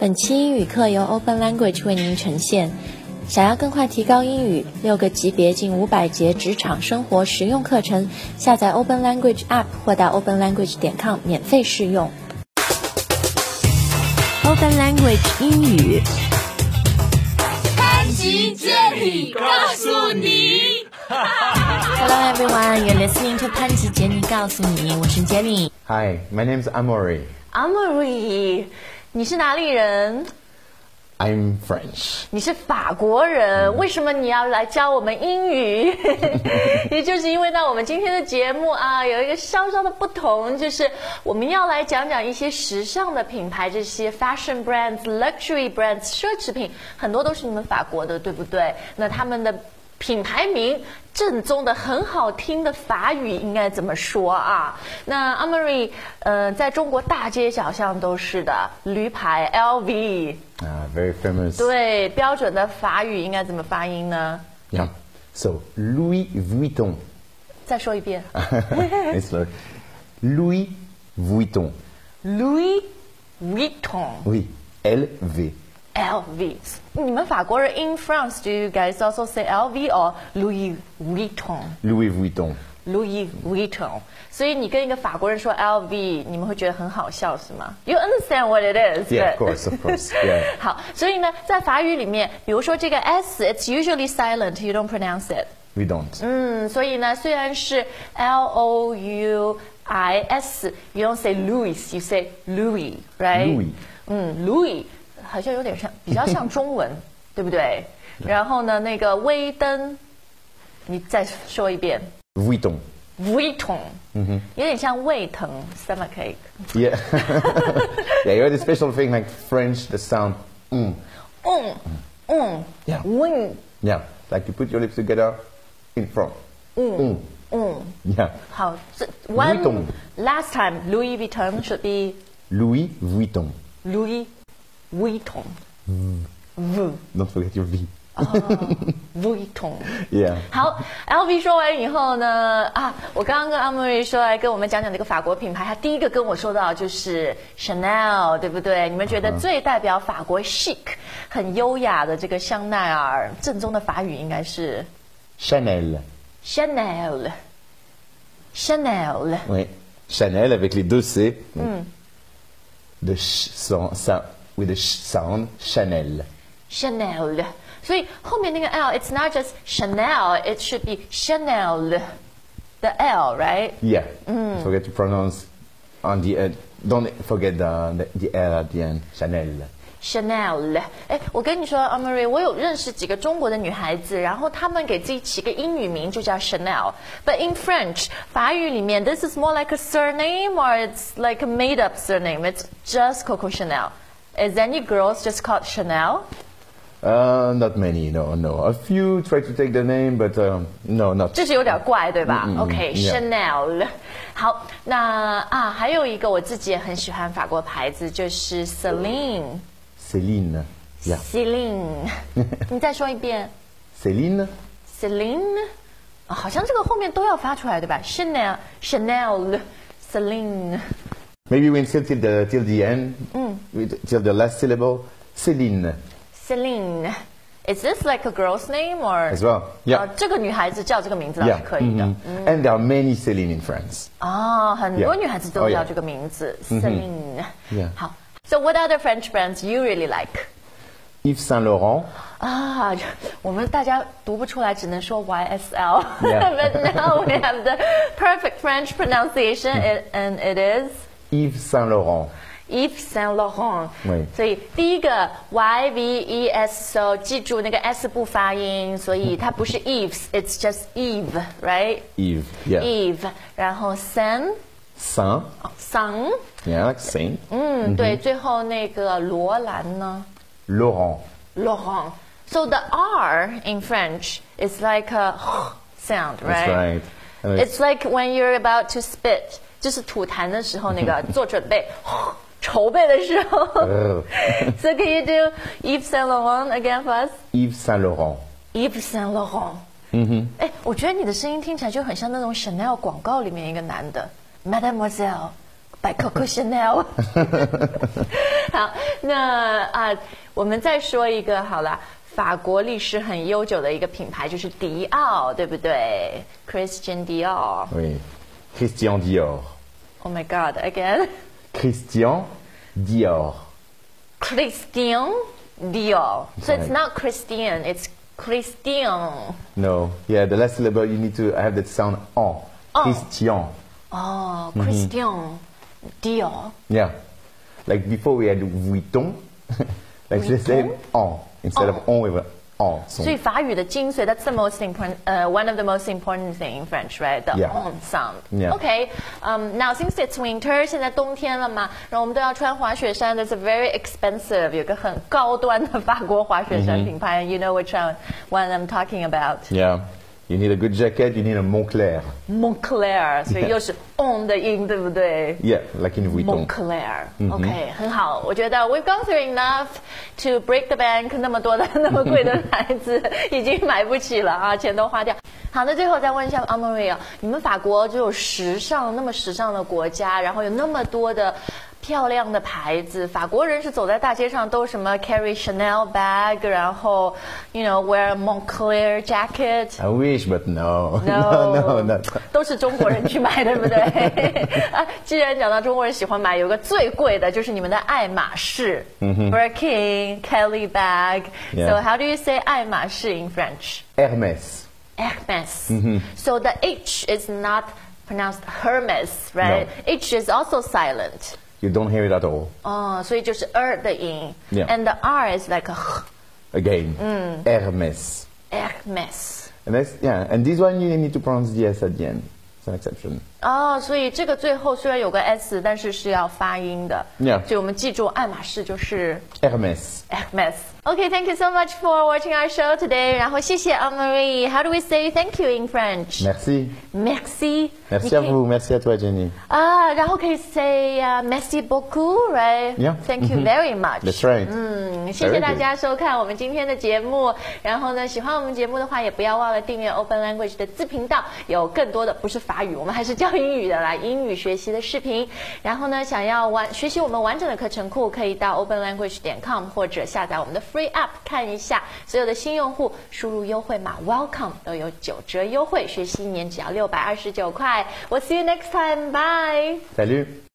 本期英语课由 Open Language 为您呈现。想要更快提高英语，6个级别近500节职场生活实用课程，下载 Open Language App 或到 openlanguage.com 免费试用。Open Language 英语， 潘吉接力告诉你。 Hello everyone, you're listening to 潘吉杰尼告诉你，我是杰尼。 Hi, my name's Amaury. Amaury， 你是哪里人？ I'm French. 你是法国人，为什么你要来教我们英语？也就是因为呢，我们今天的节目啊，有一个稍稍的不同，就是我们要来讲讲一些时尚的品牌，这些 fashion brands、luxury brands 奢侈品，很多都是你们法国的，对不对？那他们的品牌名正宗的很好听的法语应该怎么说啊？那 Amaury， 在中国大街小巷都是的，驴牌 LV。 Very famous. 对，标准的法语应该怎么发音呢？ Yeah. So, Louis Vuitton. 再说一遍。 It's like Louis Vuitton. Louis Vuitton. Oui, LV. LV. 你们法国人 in France, do you guys also say LV or Louis Vuitton? Louis Vuitton. Louis Vuitton. 所以你跟一个法国人说 LV， 你们会觉得很好笑是吗？ You understand what it is? Yeah, of course, yeah. 好，所以呢，在法语里面，比如说这个 S, it's usually silent, you don't pronounce it. We don't. 所以呢，虽然是 Louis, you don't say Louis, you say Louis, right? Louis. Louis 好像有点像，比较像中文，对不对？然后呢，那个威登，你再说一遍。 Vuitton. Vuitton， 有点像胃疼 stomachache。 Yeah. Yeah, you had a special thing like French, the sound. Yeah. Yeah, like you put your lips together in front. Yeah. 好，这 Vuitton. last time Louis Vuitton should be Louis Vuitton. Louis Vuitton。 Don't forget your V. Vuitton。 Yeah. 好 ，LV 说完以后呢，我刚刚跟Amaury说来跟我们讲讲这个法国品牌，他第一个跟我说到就是 Chanel， 对不对？你们觉得最代表法国 chic、很优雅的这个香奈儿，正宗的法语应该是 Chanel. Chanel。Chanel。 Oui. Chanel avec les deux C. The with the sound, Chanel. Chanel。所以后面那个 L，it's not just Chanel，it should be Chanel。The L, right? Yeah. Forget to pronounce on the end. Don't forget the L at the end. Chanel. Chanel， 我跟你说 ，Amaury， 我有认识几个中国的女孩子，然后她们给自己起个英语名就叫 Chanel。But in French， 法语里面 ，this is more like a surname or it's like a made-up surname. It's just Coco Chanel. Is any girls just called Chanel? Not many. No. A few try to take the name, but no, not. 这是有点怪，对吧 yeah. Chanel。好，那还有一个我自己也很喜欢法国牌子，就是 Celine。 Celine. Yeah. Celine， 你再说一遍。 Celine. Celine， 好像这个后面都要发出来，对吧 ？Chanel，Celine。 Maybe we insist till the end. Till the last syllable. Celine. Celine， is this like a girl's name or As well. Yeah. 这个女孩子叫这个名字倒是 Yeah. 可以的。 And there are many Celine in France. 很多 Yeah. 女孩子都 Oh, yeah. 叫这个名字 Celine。 Yeah. 好 ，So what other French brands you really like？ Yves Saint Laurent. 我们大家读不出来，只能说 YSL。 Yeah. But now we have the perfect French pronunciation, and it is Yves Saint Laurent. Yves Saint Laurent。 对。 所以第一个 YVES， 记住那个 S 不发音，所以它不是 Yves，it's just Eve，right？ Yves. Yeah. Eve， 然后 Saint。 Saint. Yeah, like Saint. 对，最后那个罗兰呢 Laurent. Laurent. So the R in French is like a sound, right? That's right. It's like when you're about to spit， 就是吐痰的时候那个做准备筹备的时候。So can you do Yves Saint Laurent again for us? Yves Saint Laurent. Yves Saint Laurent. 我觉得你的声音听起来就很像那种 Chanel 广告里面一个男的 ，Mademoiselle。 by Coco Chanel。好，那我们再说一个好了。法国历史很悠久的一个品牌就是迪奥，对不对 ？Christian Dior。 Oui. Christian Dior. Oh my God! Again. Christian Dior. Christian Dior. So it's not Christian, it's Christian. No. Yeah, the last syllable you need to have that sound en. Christian. Oh, Christian Dior. Yeah. Like before we had Vuitton. Like the same en instead of on with en. 所以法语的精髓 that's the most important, one of the most important thing in French, right? The on sound. Yeah. Okay. Now since it's winter, 现在冬天了嘛，然后我们都要穿滑雪衫。That's a very expensive, 有个很高端的法国滑雪衫品牌。You know which one I'm talking about? Yeah. You need a good jacket, you need a Moncler. Moncler, 所以又是 on 的音，对不对？ Yeah, like in Vuitton. Moncler, OK， 很好。我觉得 we've gone through enough to break the bank， 那么多的那么贵的牌子已经买不起了啊，钱都花掉。好，那最后再问一下 Amaury 你们法国就有那么时尚的国家，然后有那么多的漂亮的牌子，法国人是走在大街上都什么 carry Chanel bag， 然后 wear Moncler jacket。 I wish, but no. No. 都是中国人去买，对不对？既然讲到中国人喜欢买，有个最贵的就是你们的爱马仕，Birkin, Kelly bag. So how do you say 爱马仕 in French? Hermès. Hermès. So the H is not pronounced Hermes, right? No. H is also silent. You don't hear it at all. 哦，所以就是 的音 Yeah. and the R is like a Again, Hermès. Hermès. And this one you need to pronounce the S at the end. It's an exception. 哦，所以这个最后虽然有个 S， 但是是要发音的。 Yeah. 所以我们记住，爱马仕就是 Hermès. Hermès。Okay, thank you so much for watching our show today. 然后谢谢 Amaury. How do we say thank you in French? Merci. Merci. Merci à vous. Merci à toi, Jenny. 然后可以 say merci beaucoup, right? Yeah. Thank you very much. That's right. 谢谢大家收看我们今天的节目。然后呢，喜欢我们节目的话，也不要忘了订阅 Open Language 的子频道，有更多的不是法语，我们还是教英语的啦，英语学习的视频。然后呢，想要学习我们完整的课程库，可以到 openlanguage.com 或者下载我们的 Free App 看一下。所有的新用户输入优惠码 Welcome 都有9折优惠，学习1年只要629块。We'll see you next time. Bye. Salut.